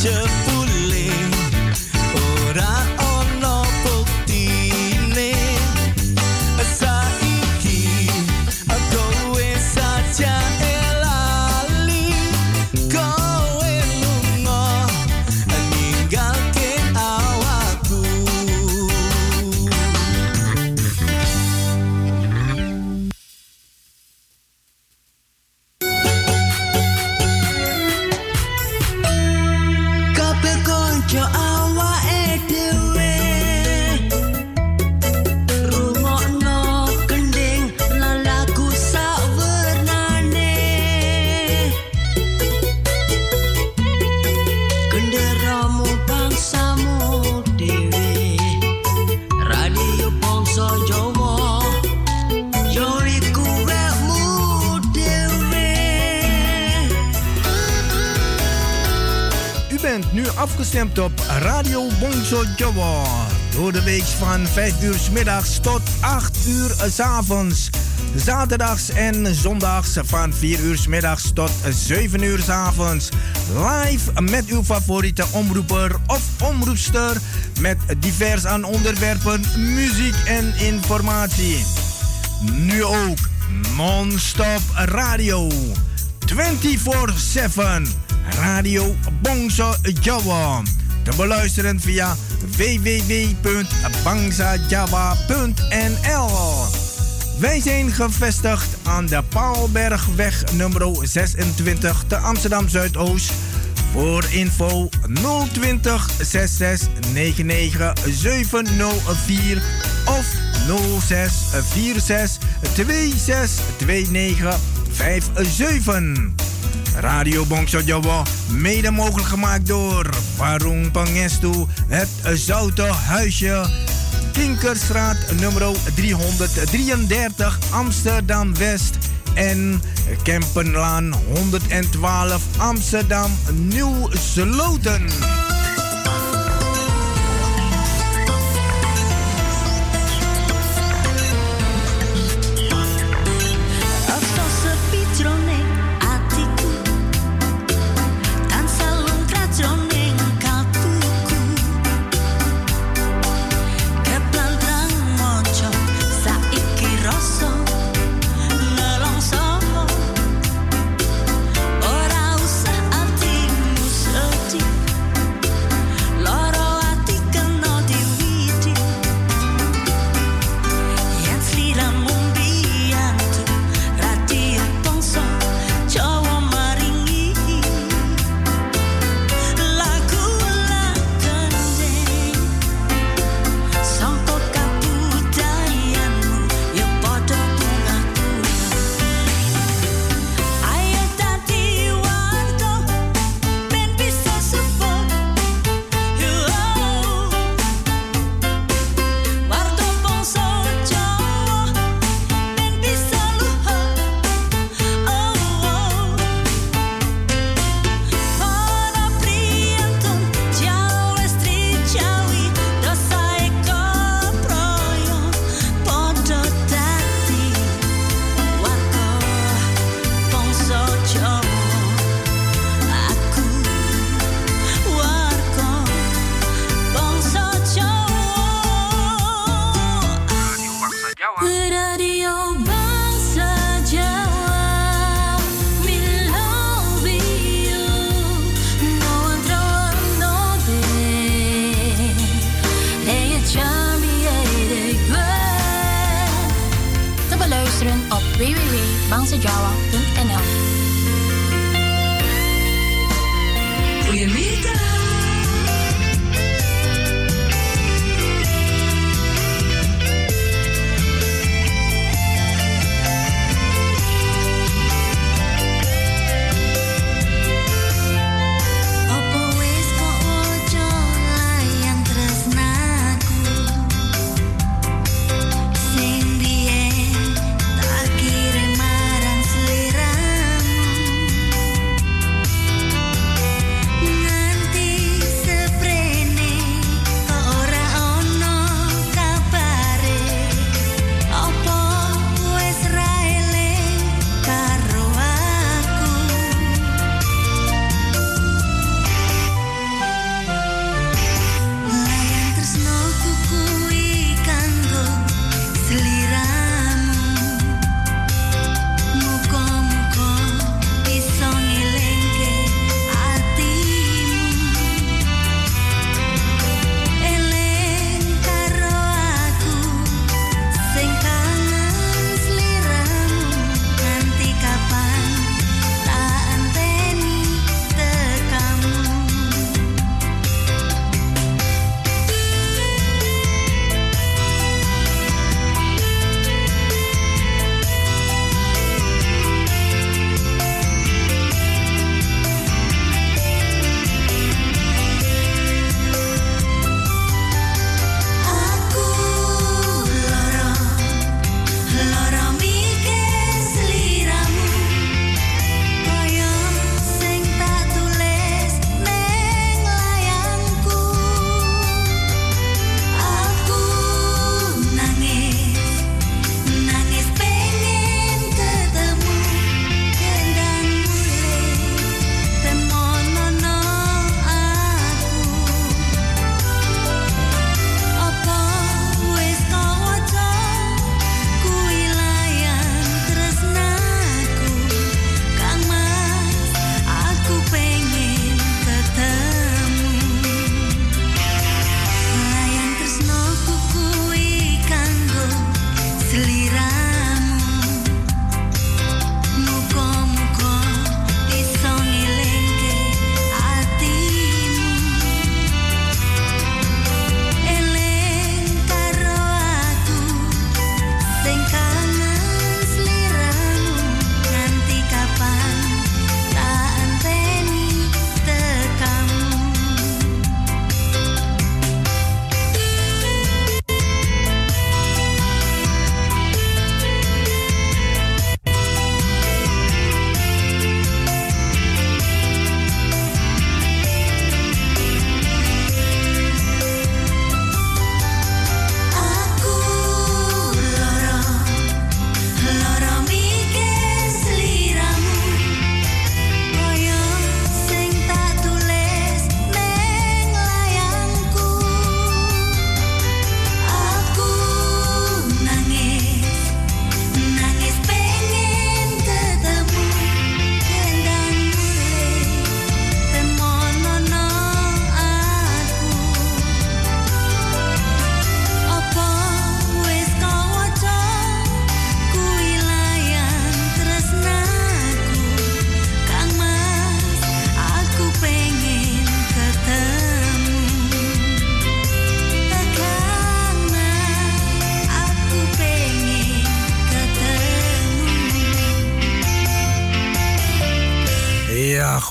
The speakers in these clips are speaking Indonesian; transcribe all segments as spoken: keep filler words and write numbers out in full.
jebule ora ono buktine saiki kowe saja elali kowe lunga ninggalke awakku kabeh konco awake dhewe rungokno kending lan lagu sawernane genderamu bangsamu dhewe radio bangsa Jawa yo iku wekmu dhewe. U bent nu afgestemd op Radio Bongso Jawa. Door de week van vijf uur 's middags tot acht uur 's avonds. Zaterdags en zondags van vier uur 's middags tot zeven uur 's avonds. Live met uw favoriete omroeper of omroepster. Met divers aan onderwerpen, muziek en informatie. Nu ook non-stop radio. vierentwintig zeven. Radio Bongso Jawa. Te beluisteren via w w w punt bangsajawa punt n l. Wij zijn gevestigd aan de Paalbergweg nummer zesentwintig te Amsterdam Zuidoost. Voor info nul twintig zesenzestig negenennegentig zevenhonderd vier of nul zes vier zes twee zes twee negen vijf zeven. Radio Bongso Jawa, mede mogelijk gemaakt door Warung Pangestu, het Zoute Huisje, Kinkerstraat nummer driehonderddrieëndertig Amsterdam West en Kempenlaan honderdtwaalf Amsterdam Nieuw Sloten. bangsajawa punt n l. Goedemiddag. Nanti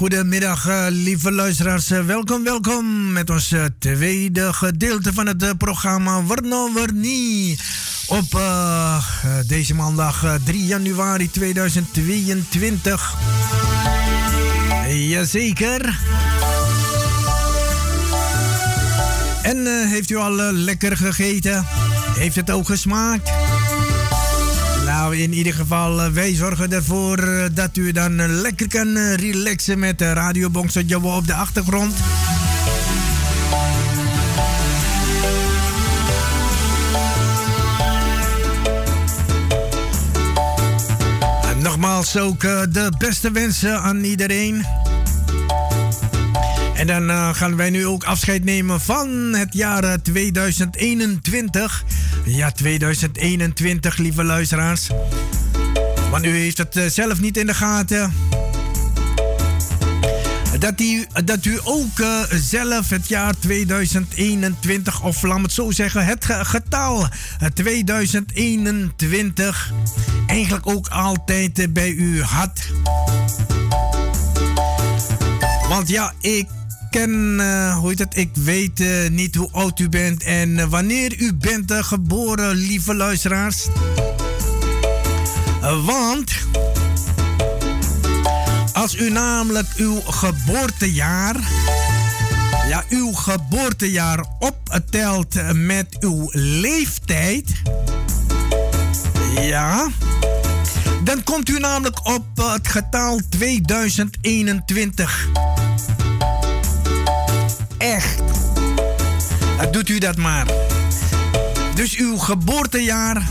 goedemiddag, uh, lieve luisteraars. Uh, welkom, welkom met ons uh, tweede gedeelte van het uh, programma Warno Warni. Op uh, uh, deze maandag uh, drie januari tweeduizend tweeëntwintig. Jazeker. En uh, heeft u al uh, lekker gegeten? Heeft het ook gesmaakt? Nou, in ieder geval, uh, wij zorgen ervoor uh, dat u dan uh, lekker kan uh, relaxen met uh, Radio Bongso Jowo op de achtergrond. En nogmaals ook uh, de beste wensen aan iedereen. En dan uh, gaan wij nu ook afscheid nemen van het jaar tweeduizend eenentwintig. Ja, tweeduizend eenentwintig, lieve luisteraars. Want u heeft het uh, zelf niet in de gaten. Dat u, dat u ook uh, zelf het jaar tweeduizend eenentwintig, of laat me het zo zeggen, het getal uh, tweeduizend eenentwintig eigenlijk ook altijd uh, bij u had. Want ja, ik ken, uh, hoe heet het, ik weet uh, niet hoe oud u bent en uh, wanneer u bent uh, geboren, lieve luisteraars. Uh, want als u namelijk uw geboortejaar, ja, uw geboortejaar optelt met uw leeftijd, ja, dan komt u namelijk op uh, het getal tweeduizend eenentwintig. Echt. Uh, doet u dat maar. Dus uw geboortejaar.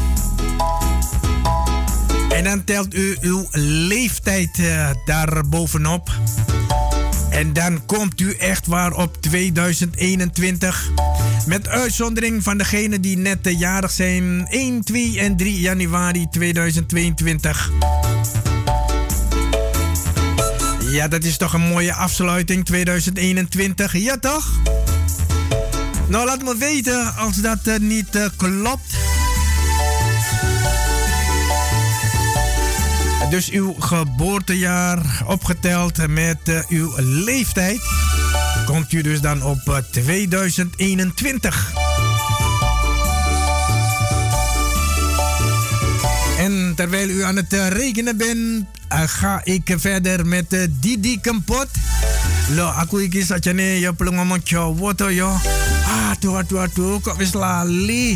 En dan telt u uw leeftijd uh, daar bovenop. En dan komt u echt waar op tweeduizend eenentwintig. Met uitzondering van degenen die net uh, jarig zijn. één, twee en drie januari tweeduizend tweeëntwintig. Ja, dat is toch een mooie afsluiting, tweeduizend eenentwintig. Ja, toch? Nou, laat me weten als dat uh, niet uh, klopt. Dus uw geboortejaar opgeteld met uh, uw leeftijd, komt u dus dan op uh, tweeduizend eenentwintig. En terwijl u aan het uh, rekenen bent, uh, ga ik verder met uh, Didi Kempot. Lo, aku iki sajane ya perlu ngomong Jawa to ya. Aduh, aduh, aduh, kok wis lali.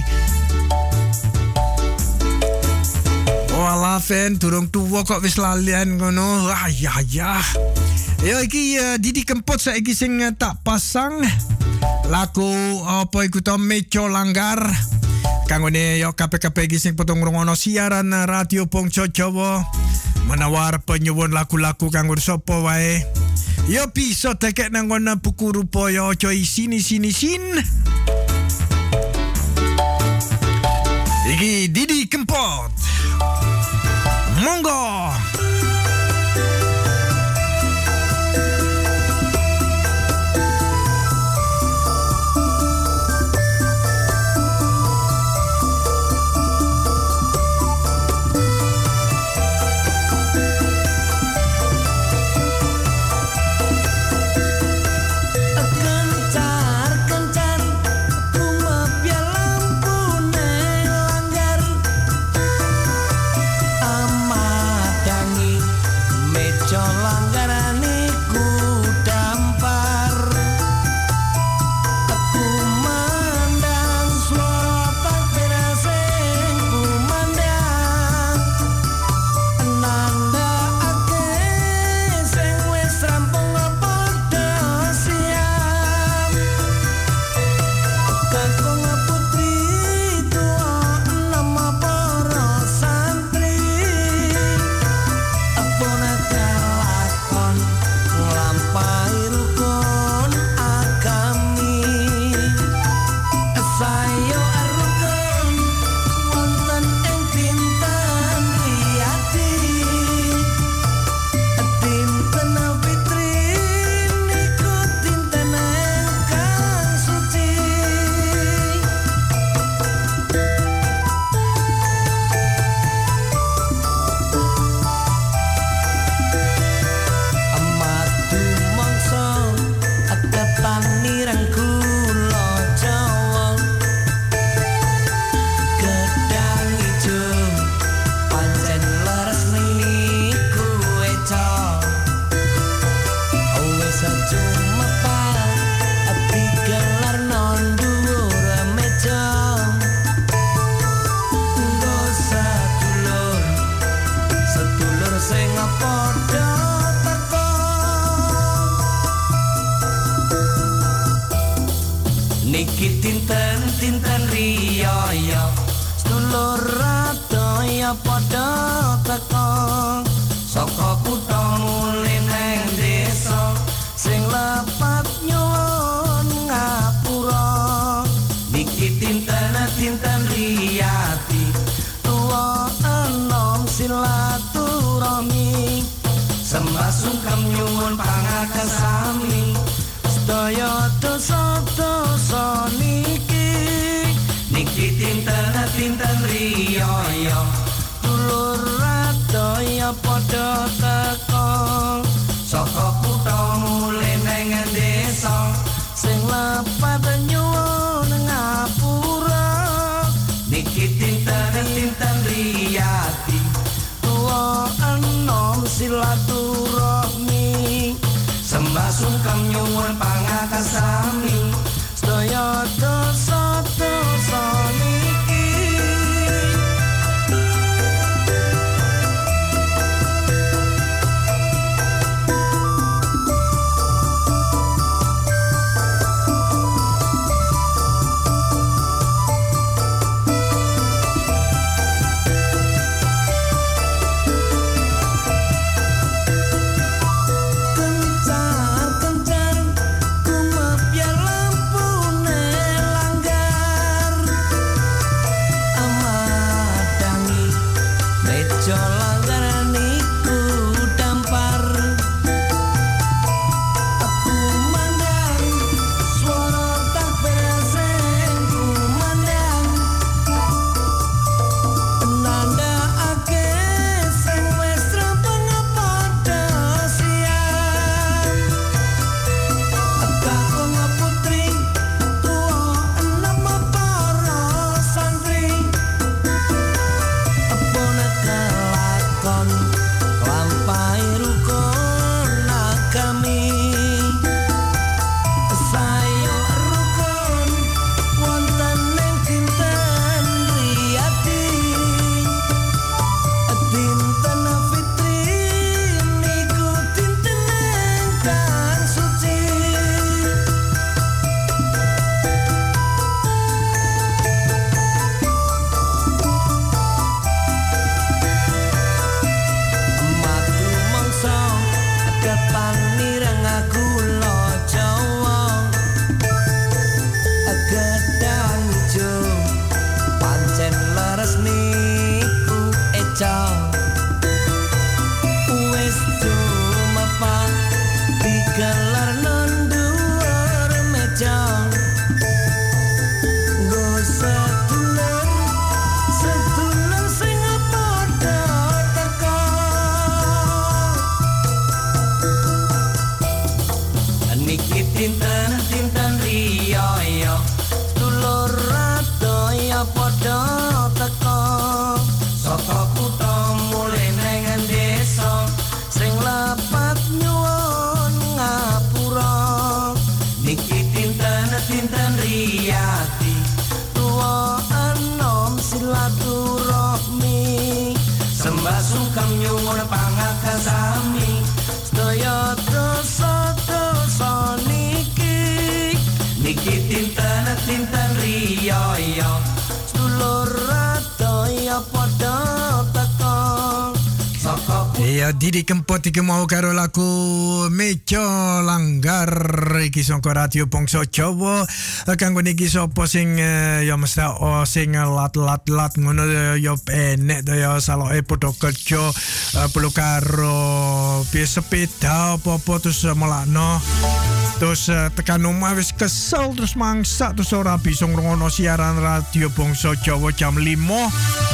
Wala fan, durung tuwa kok wis lalian ngono. Ah, ya, ya. Ya iki uh, Didi Kempot saiki sing uh, tak pasang. Lagu apa iku to Meco Langgar. Kanggone yo kabeh-kabeh iki sing potong ngrungokno siaran Radio Bongso Jowo. Menawar penyuwun lagu-lagu kanggo sapa wae. Yo bisa tekek nang ngono buku rupa yo aja sini sini sin. Iki Didi Kempot. Monggo. Amada Niki tinten-tinten riyo-yo sedulur radaya padha teka saka kutha mulih nang desa sing lepat nyuwun ngapura niki tinten-tinten riyati tuwa enom silaturahmi sembah sungkem nyuwun pangakasami sedaya dosa-dosa niki niki tinten-tinten riyo-yo dulur radaya padha teka saka kutha mulih nang desa sing lepat nyuwun ngapura niki tinten-tinten riyati tuwa enom silaturahmi sembah sungkem nyuwun pangakasami sedaya dosa-dosa niki Didi Kempot iki mau karo lagu Mejo Langgar iki saka Radio Bangsa Jawa kanggo niki sapa sing ya mesti oh, sing lat-lat-lat ngono ya enek to ya saloke padha kerja perlu karo sepeda apa-apa terus melakno terus tekan omah wis kesel terus mangsak terus ora bisa ngrungokno siaran Radio Bangsa Jawa jam lima.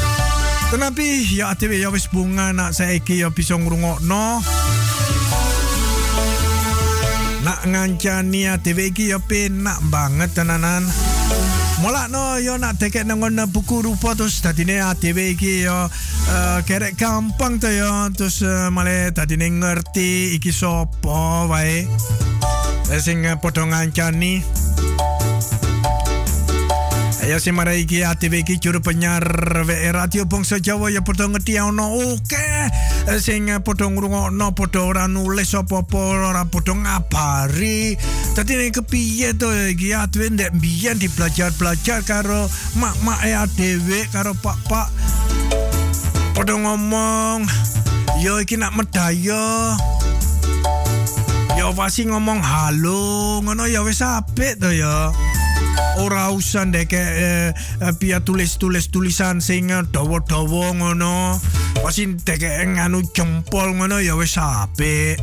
Tapi ya A T W ya wis bunga nak saiki ya bisa ngrungokno. Nak ngancani A T W iki ya penak banget tenanan. Mulakno ya nak dekek nang buku rupa terus dadine A T W iki ya uh, kerek gampang to ya terus uh, malah dadine ngerti iki sapa wae. Sing padha ngancani Ayo si marai ki A T V ki juru penyiar W R Radio Bangsa Jawa ya padha ngerti ono oke sing padha ngrungokno padha ora nulis apa-apa ora padha ngabari. Dadi nek kepiye to iki A T V ndek mbiyen dibelajar-belajar karo mak-mak e dhewe karo pak-pak padha ngomong yo iki nak medaya yo pasti ngomong halo ngono ya wis apik to ya. Ora usah ndek eh, pia tulis-tulis tulisan sing dawa-dawa ngono. Pasti ndek nganu jempol ngono ya wis apik.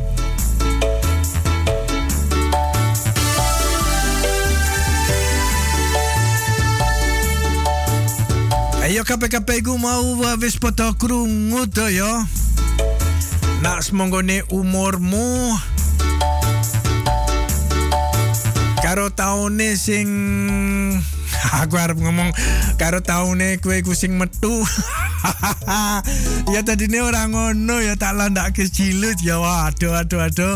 Ayo kabeh-kabeh ku mau wis padha krungu to ya. Nak semonggone umurmu karo taune sing aku arep ngomong karo taune kowe ku sing metu. Ya tadine ora ngono ya tak landake cilut ya waduh aduh aduh.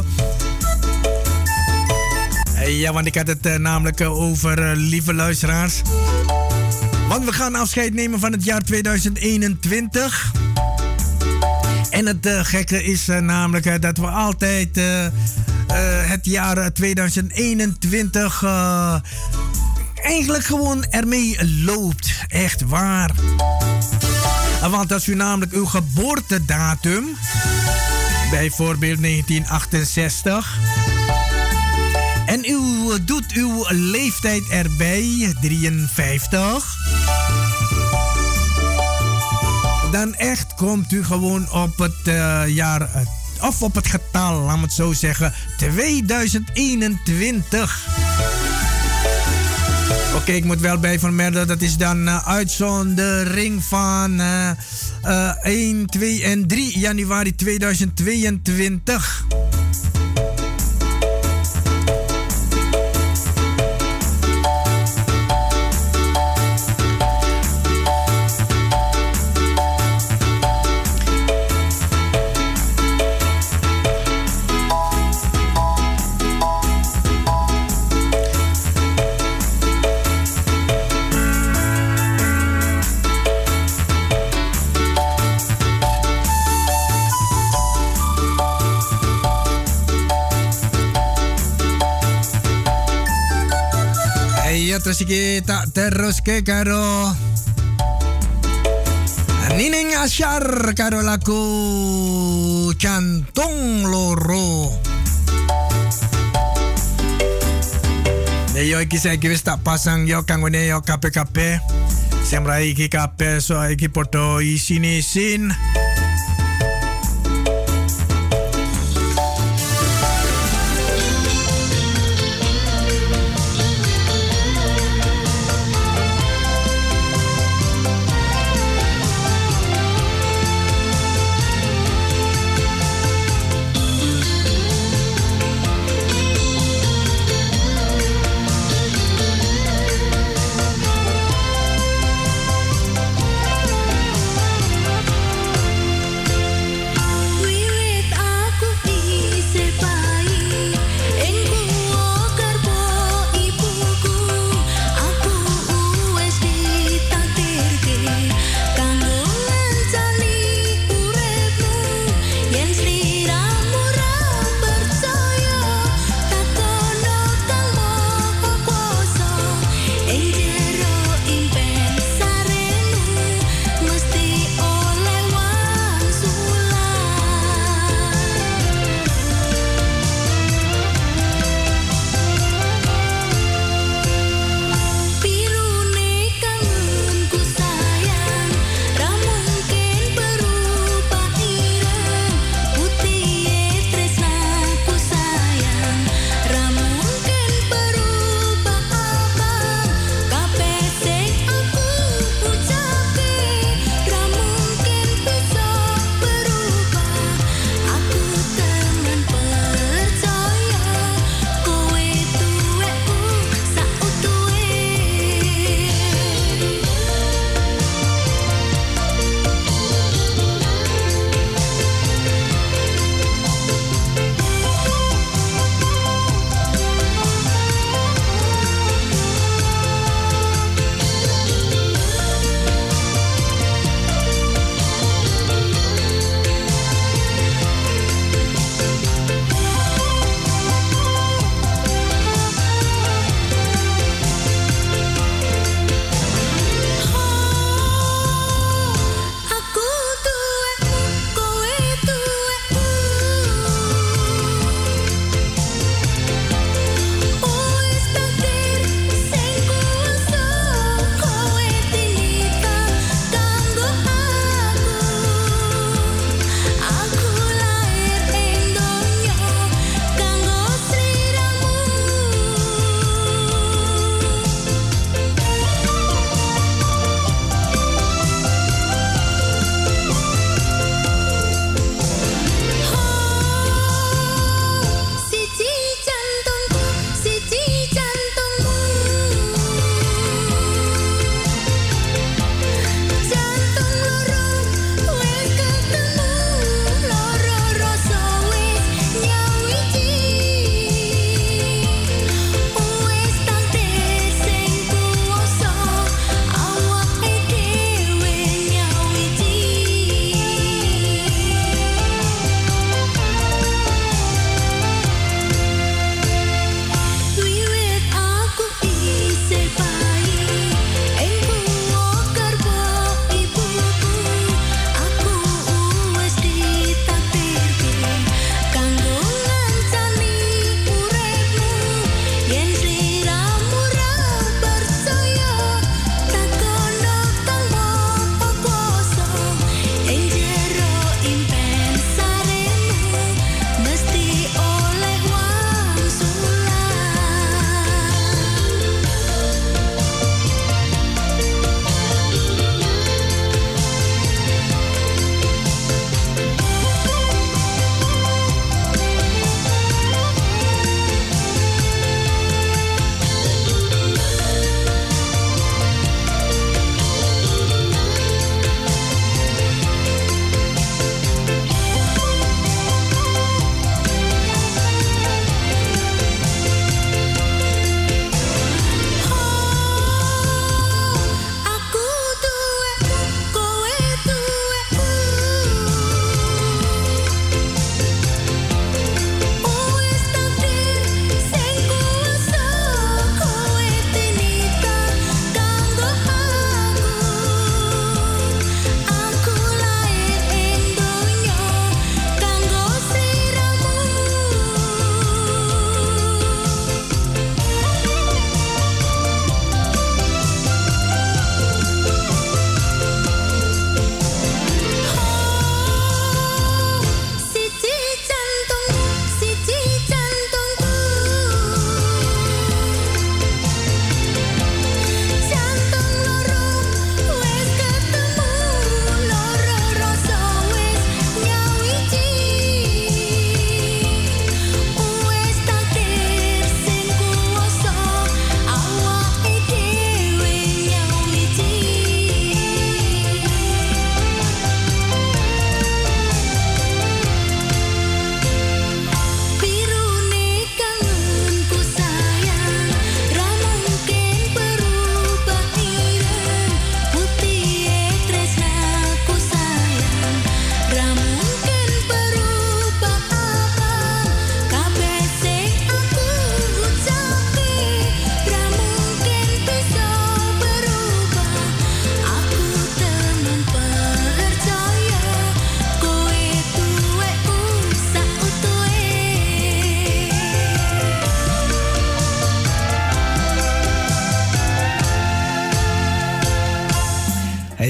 Ja, want ik had het uh, namelijk uh, over uh, lieve luisteraars. Want we gaan afscheid nemen van het jaar tweeduizend eenentwintig. En het uh, gekke is uh, namelijk uh, dat we altijd uh, uh, het jaar tweeduizend eenentwintig uh, eigenlijk gewoon ermee loopt. Echt waar. Uh, want als u namelijk uw geboortedatum, bijvoorbeeld negentien achtenzestig... en u doet uw leeftijd erbij, drieënvijftig... dan echt komt u gewoon op het uh, jaar, uh, of op het getal, laat me het zo zeggen, tweeduizend eenentwintig. Oké, okay, ik moet wel bij vermelden, dat is dan uh, uitzondering van uh, uh, één, twee en drie januari tweeduizend tweeëntwintig. Terus kita terus ke karo Nining Asyar karo lagu Jantung Loro. Yo iki saiki wis tak pasang yo kanggone yo kabeh-kabeh. Sing rai iki kabeh so iki padha isin-isin.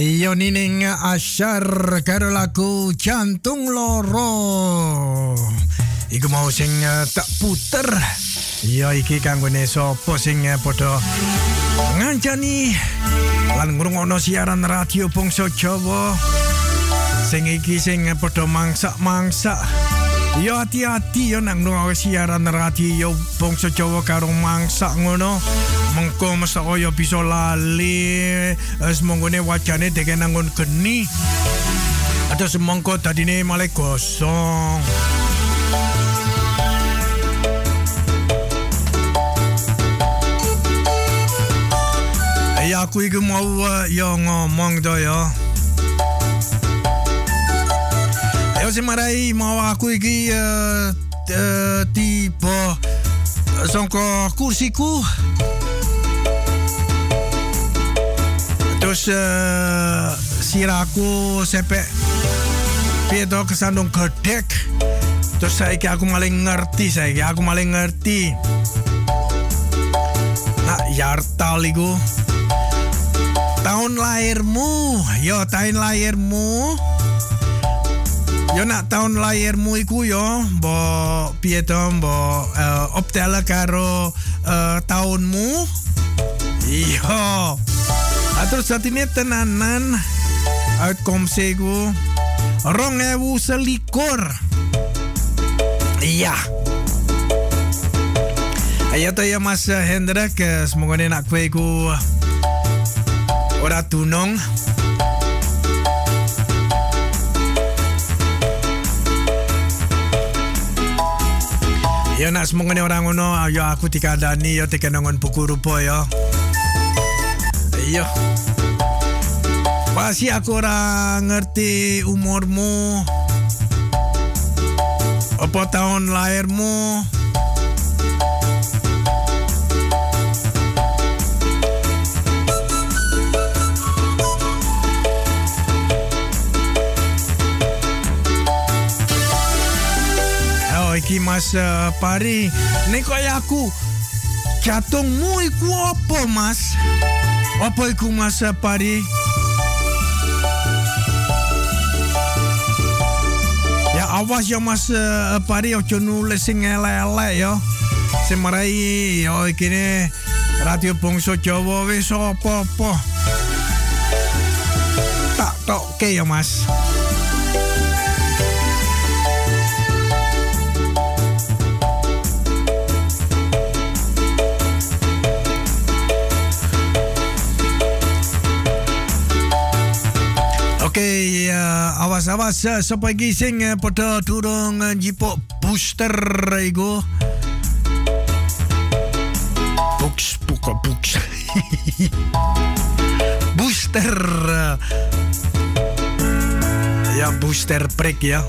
Iyo nining asyar karo lagu Jantung Loro. Iku mau sing uh, tak puter. Iya iki kanggone sapa sing uh, padha ngancani lan ngrungokno siaran radio Bangsa Jawa. Sing iki sing uh, padha mangsak-mangsak. Yo hati-hati yo nang ngrungokno siaran radio Bangsa Jawa karo mangsak ngono. Mengko mesti kaya bisa lali semonggone wajane deke nangun geni. Ada semongko dadine malah gosong. Ya aku iki mau uh, yo ngomong to yo. Ayo semarai mau aku iki uh, uh, tiba songko kursiku. Terus uh, siraku sepek pieto kesandung gedek. Terus saiki aku maling ngerti saiki aku maling ngerti. Nak yartal iku. Tahun lahirmu, yo tahun lahirmu. Yo nak tahun lahirmu iku yo, mbok piye to mbok uh, optela karo uh, tahunmu. Iyo. Terus saat ini tenanan outcome sego rong ewu selikur. Iya. Ayo to ya Mas Hendrik, semoga nak kue ku ora tunong. Ya nak semoga orang ngono, ayo aku dikandani yo tekenongon buku rupa ya. Iya. Pasti aku ora ngerti umurmu. Apa tahun lahirmu? Oh, iki Mas uh, Pari. Nek kaya aku jatungmu iku apa, Mas? Apa iku Mas Pari? Ya awas ya Mas uh, Pari ojo nulis sing elek-elek ya. Semarai yo iki ne Radio Bangsa Jawa wis apa-apa. Tak tokke ya Mas. Oke, uh, awas-awas uh, sapa iki sing uh, padha durung uh, njipuk booster iku. Box buka box. Booster. Uh, ya booster break ya.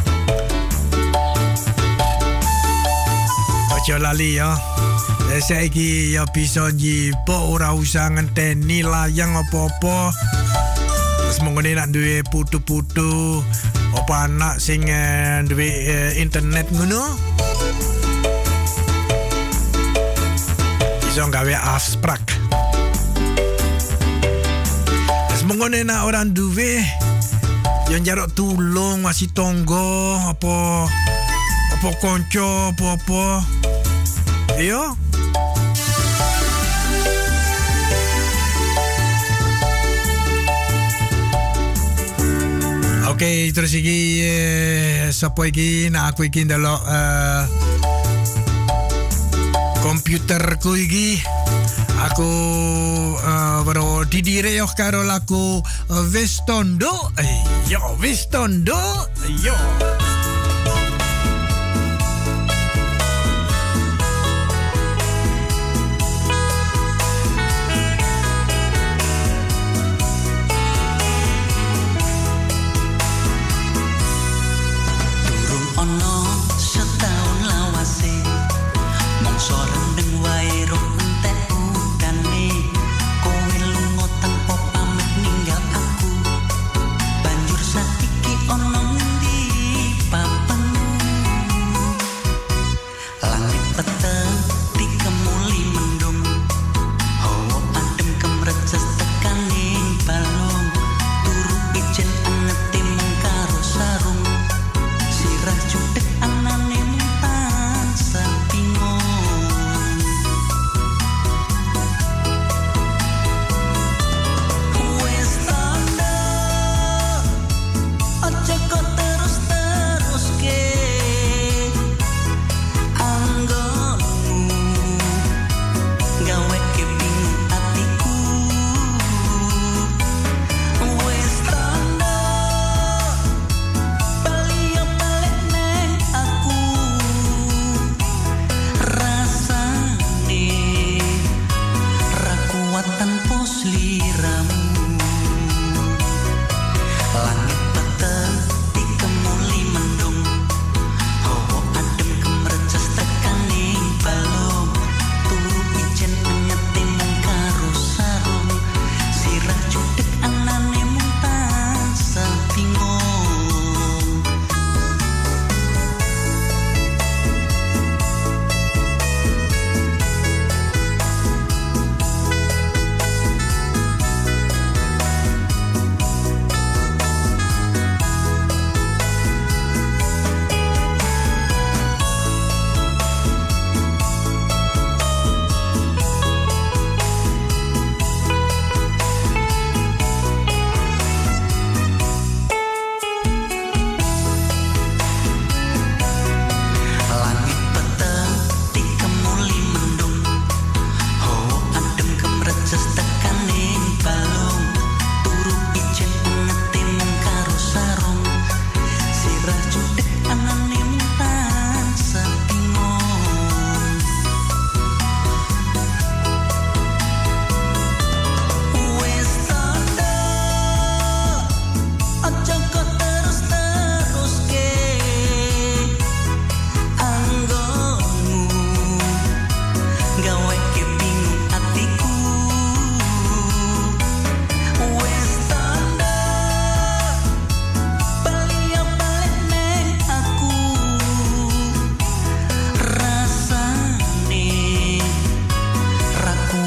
Ojo lali ya. Saiki ya bisa njipuk ora usah ngenteni layang apa-apa. Semoga nak duwe putu-putu apa anak sing uh, duwe uh, internet ngono. Iso gawe abstrak. Semoga nak orang duwe yang jarok tulung masih tonggo apa apa konco apa-apa. Iyo. Oke, okay, terus iki eh, sapa iki nak aku iki ndelok uh, komputerku iki aku uh, baru didire yo karo lagu uh, wis tondo. Yo wis tondo. Yo. Banjur saiki ono ngendi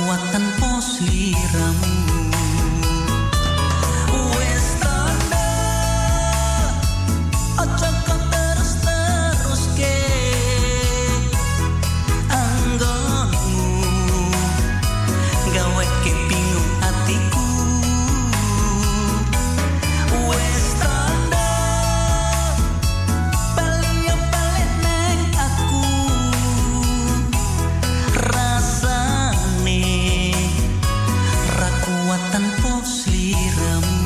rakuatan pos liramu. Wes tanda ojo kok terus-terus ke anggonmu, gawe ke bingung hatiku. Wes tanda bali yo balik neng aku, rasane rakuatan pos liramu.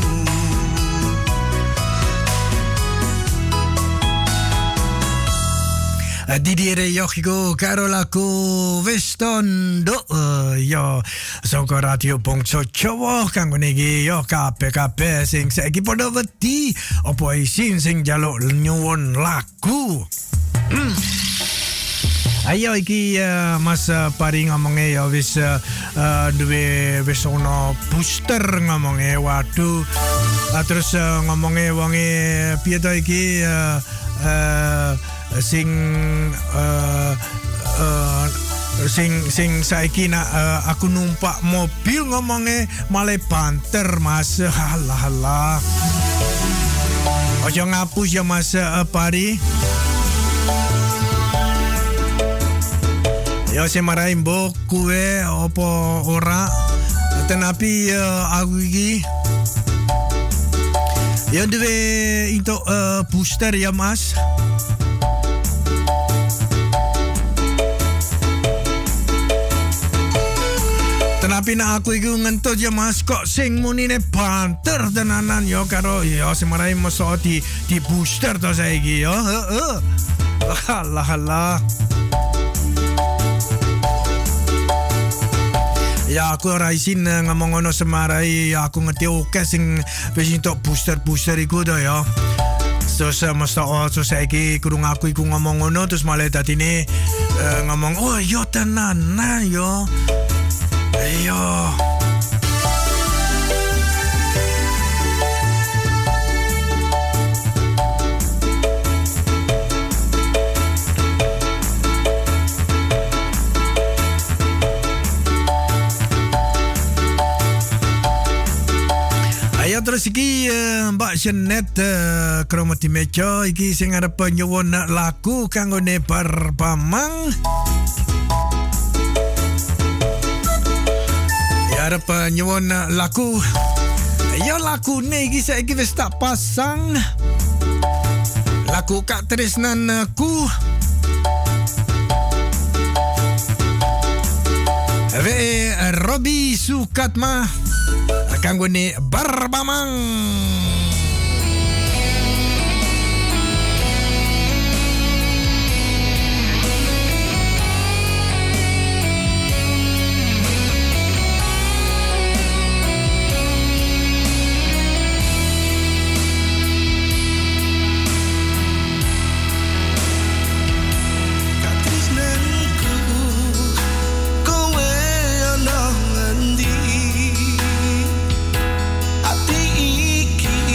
Didire yokiku karo laku Weston do uh, yo saka radio Bangsa Jawa kanggo niki yo kabeh-kabeh sing saiki padha wedi apa isin sing njaluk nyuwun lagu. Mm. Ayo iki uh, Mas uh, Pari ngomongnya ya wis uh, uh, duwe wis ono booster ngomongnya waduh uh, terus uh, ngomongnya wonge piye to iki uh, uh, sing uh, uh, sing sing saiki nak uh, aku numpak mobil ngomongnya malah banter Mas. Halah halah. Ojo ngapus ya Mas uh, Pari. Ya saya marahin mbok kue apa ora tenapi uh, aku iki ya duwe untuk uh, booster ya Mas. Tenapi nak aku iki ngentut ya Mas kok sing munine banter tenanan yo karo ya sing marahin mosok di di booster to saiki yo. Heeh. Halah halah. Ya aku ora isin ngomong ngono semarai aku ngerti oke sing wis entuk booster-booster iku to ya. Terus mesti oh terus saiki kurung aku iku ngomong ngono terus malah dadine uh, ngomong oh yo tenanan yo. Ayo. Ayo terus iki uh, Mbak Jenet uh, kromoti meja iki sing arep nyuwun lagu kanggone Barbamang. Ya arep nyuwun lagu. Ya lagune iki saiki wis tak pasang. Lagu Kak Tresnanku. Ve Robi Sukatma kanggone Barbamang. Ati iki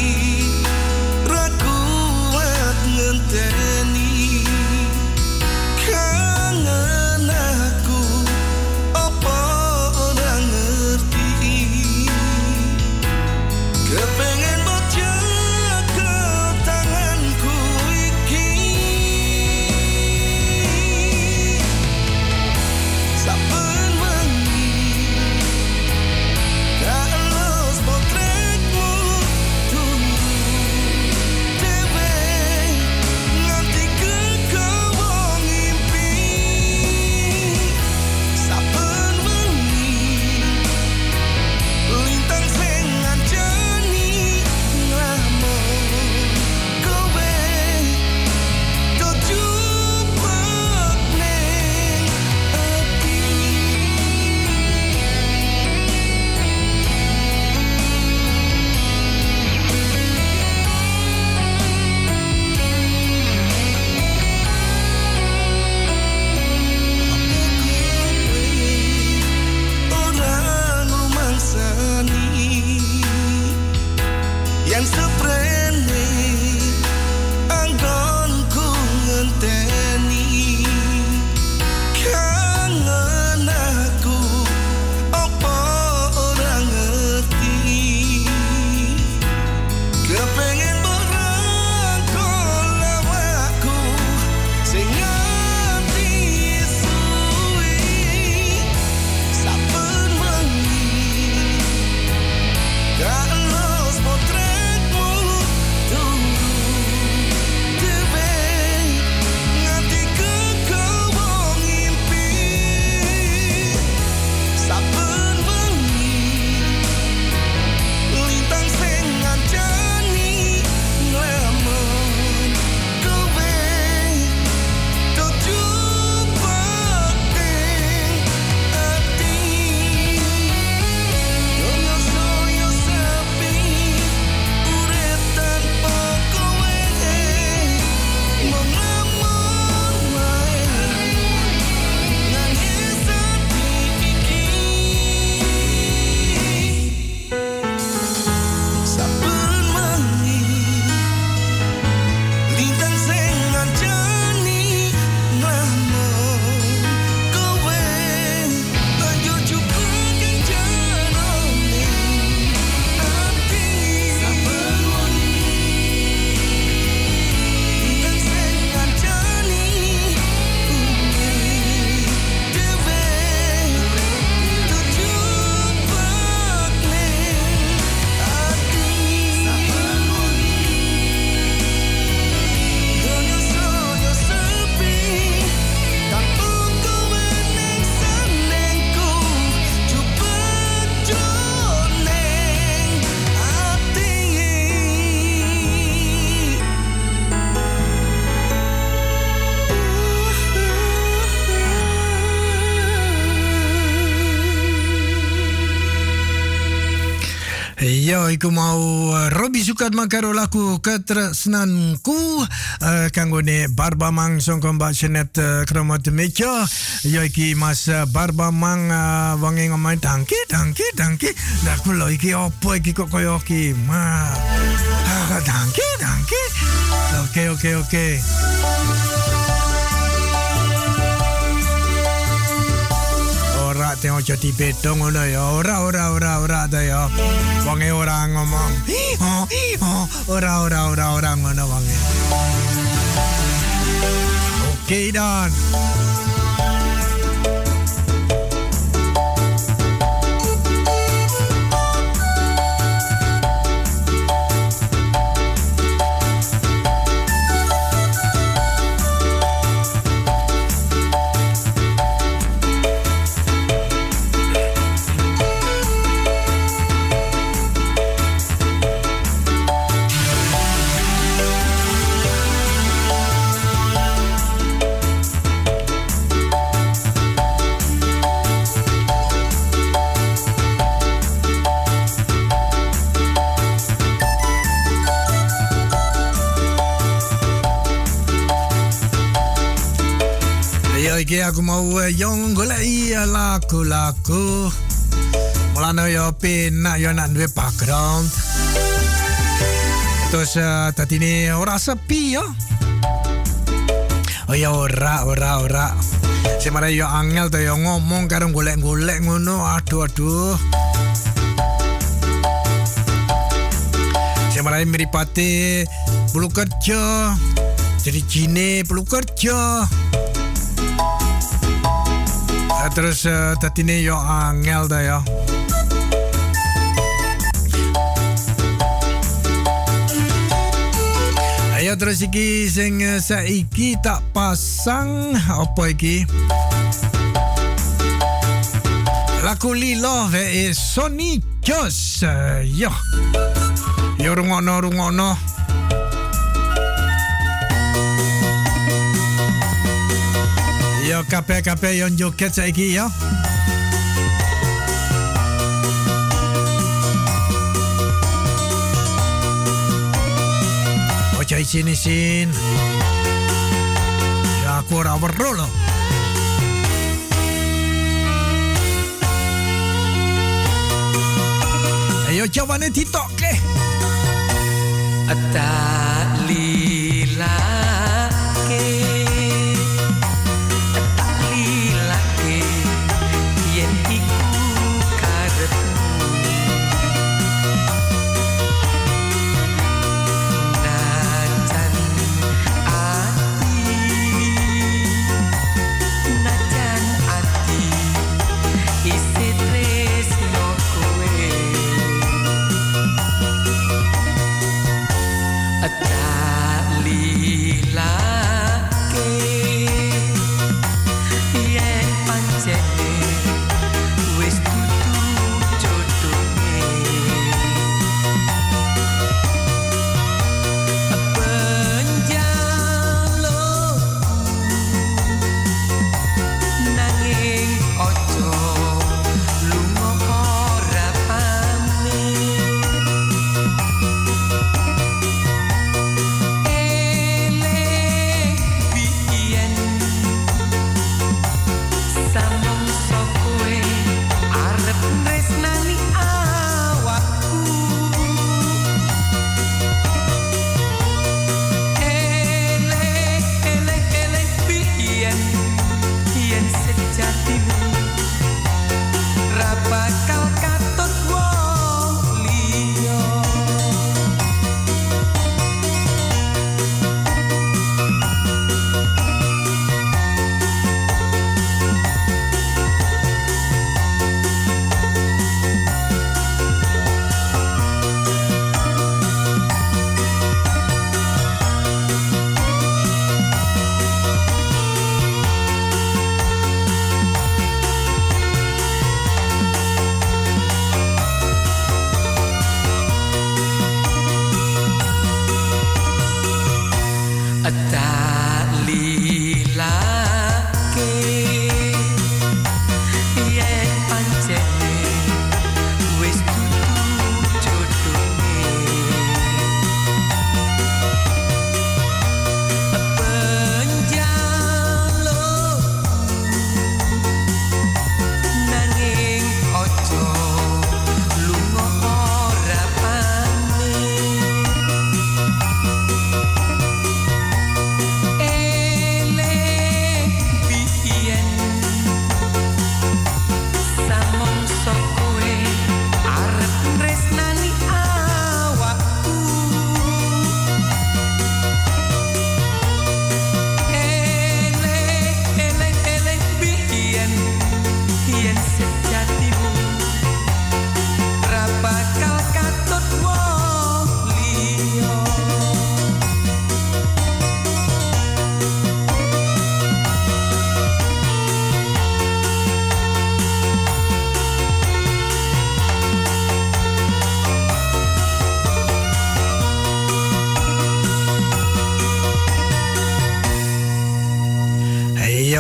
Yo, iku mau uh, Robi Sukat makaro laku ketresnanku uh, kanggone Barbamang sangka Mbak Jenet uh, Kromat Meja. Yo iki Mas uh, Barbamang uh, wangi ngomong dangki dangki dangki. Lah kula iki opo iki kok koyo iki? Ma. Ah, dangki dangki. Oke oke oke. Ora tengok jadi bedong ngono ya. Ora ora ora ora ta ya. Wonge ora ngomong. Oh, oh, ora ora ora ora ngono wonge. Oke dan. Iki aku mau yang golek lagu-lagu. Mulane yo penak yo nak duwe background. Terus uh, tadi ini ora sepi yo. Oh ya ora ora ora. Semare yo angel to yo ngomong karo golek-golek ngono. Aduh aduh. Semare miripate perlu kerja. Jadi jine perlu kerja. Terus uh, tadi ini yo angel dah ya. Ayo terus iki sing uh, saiki tak pasang apa iki? Lagu Lilo ve Sony Jos. Uh, yo. Yo rungono rungono. Yo kape-kape yon joget saiki yo. Ojo isin-isin. Ya aku ora weruh lho. Ayo jawane ditokke. Tak lilake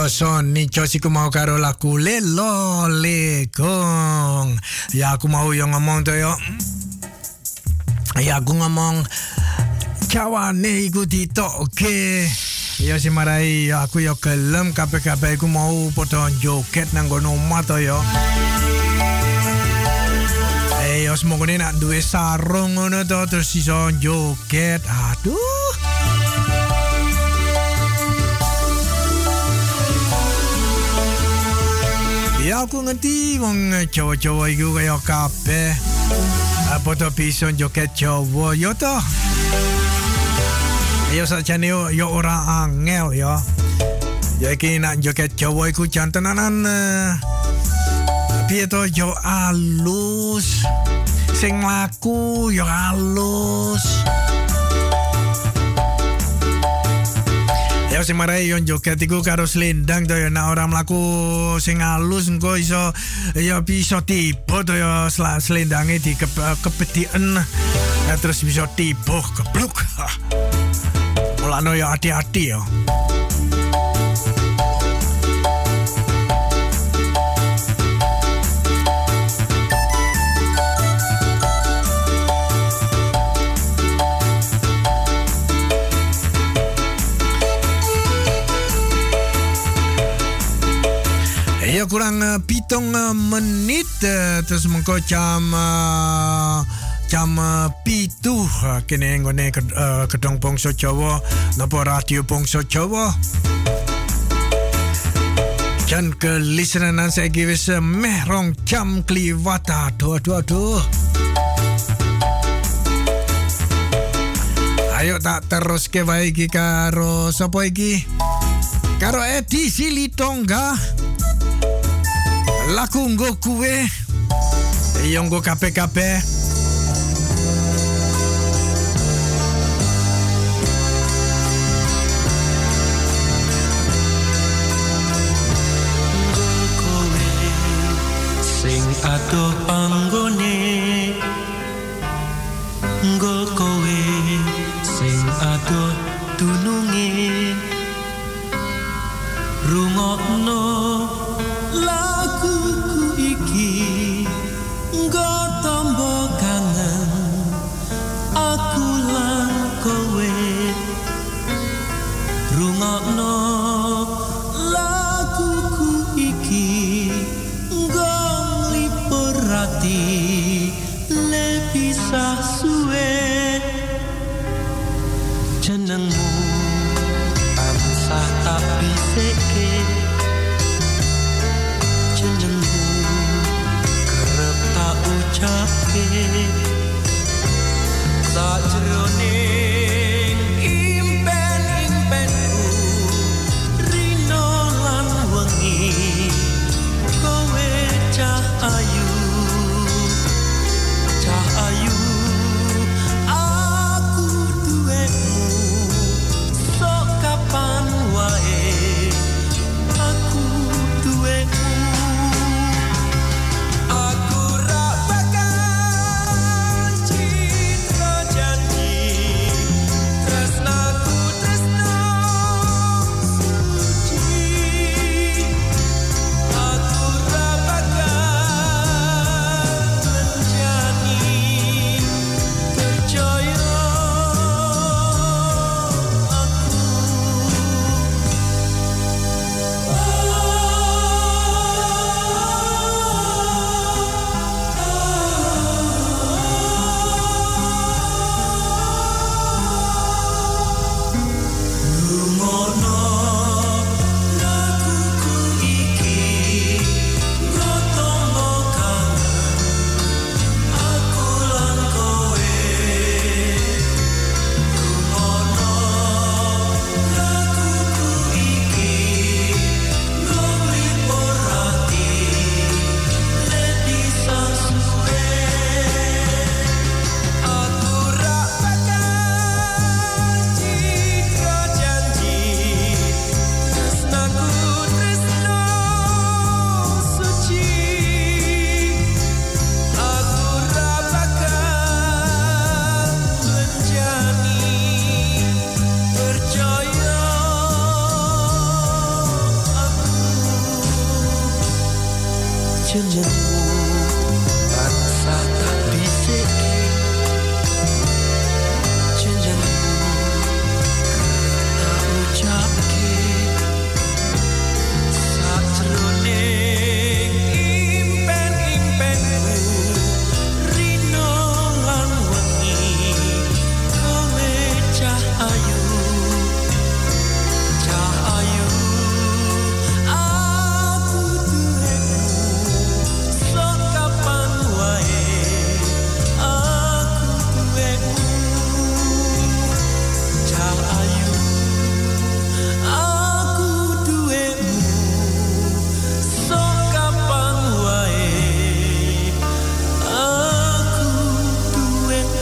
Yo son ni chosi ku mau karo laku lelo lekong. Ya aku mau yang ngomong tuh yo. Ya aku ngomong cawane iku ditokke. Ya si marai ya aku yo gelem kabeh-kabeh aku mau padha joget nang kono omah to yo. Eh yo semoga nak duwe sarung ngono to terus iso joget. Aduh. Ya aku ngerti wong Jawa-Jawa iku kaya kabeh. Apa to bisa joget Jawa yo to. Ya sajane yo yo ora angel yo. Ya iki nak joget Jawa iku jan tenanan piye to yo alus. Sing laku yo alus. Ya sing marai yo joget iku karo slendang to yo nek ora mlaku sing alus engko iso ya bisa tiba to yo slendange di kepediken terus bisa tiba kebluk. Mulane yo hati-hati yo. Ya kurang uh, pitung uh, menit uh, terus mengko jam uh, jam uh, pitu uh, kene nggone uh, gedung Bangsa Jawa napa radio Bangsa Jawa. Jan ke listenan saiki wis uh, meh rong jam kliwat. Aduh aduh aduh. Ayo tak teruske wae iki karo sapa iki? Karo Edi Silitonga. Laku nggo kuwe yang nggo kabeh-kabeh. Nggo kowe sing adoh panggone, nggo kowe sing adoh dununge, rungokno laguku iki nggo tombo kangen aku lan kowe, rungokno laguku iki nggo nglipur ati le pisah suwe, jenengmu tansah tak bisike, jenengmu kerep tak ucapke sajroning impen-impenku rino lan wengi kowe cah ayu cah ayu aku duwemu sok kapan wae aku duwemu. Aku ra bakal citra janji Bangsa tak bisik janjanmu kereta ucapke sajroning impen-impenmu rino lan wengi kowe cahayu cahayu aku duwemu sok kapan wae aku duwemu cahayu aku duwemu sok kapan wae aku duwemu.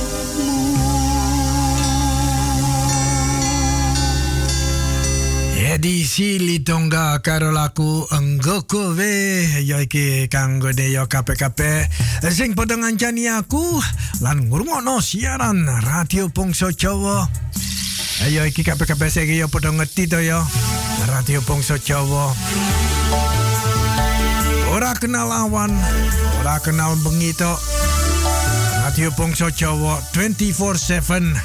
Edisi Litonga karo laku Enggoko we ya iki kanggo yo kape-kape sing padha ngancani aku lan ngrungokno siaran Radio Bangsa Jawa. Ayo iki kape-kape sing yo padha ngerti to yo. Radio Bangsa Jawa. Ora kenal awan, ora kenal bengi to. Radio Bangsa Jawa twenty-four seven.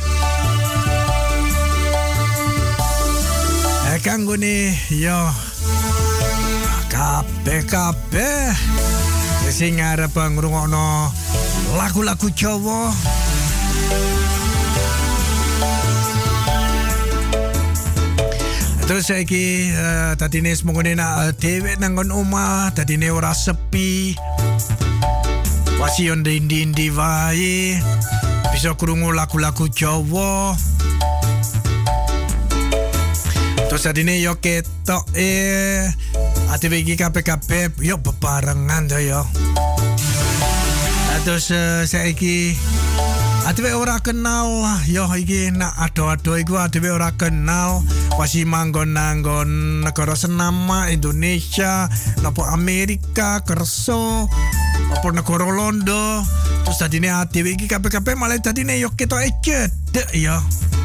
Kanggo ni yo kabeh-kabeh sing arep ngrungokno lagu-lagu Jawa. Terus saiki uh, tadine semongone nak dhewe nang omah, tadine ora sepi. Wasi on ndi-ndi wae bisa krungu lagu-lagu Jawa. Terus adine yo ketok eh ati iki kabeh-kabeh yo bebarengan to yo. Terus uh, saiki ati ora kenal yo iki nak ado-ado iku ati ora kenal wasi manggon-nanggon negara senama Indonesia napa Amerika kerso apa negara Londo. Terus adine ati iki kabeh-kabeh malah adine yo ketok cedek yo.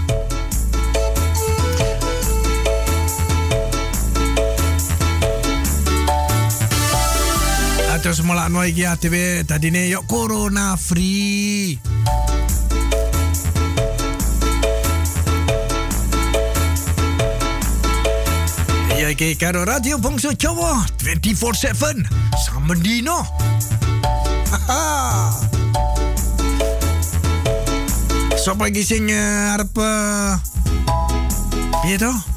Terus mulakno iki adewe dadine yo corona free. Ya iki karo Radio Bangsa Jawa twenty-four seven saben dino. Sopo iki sing arep piye to?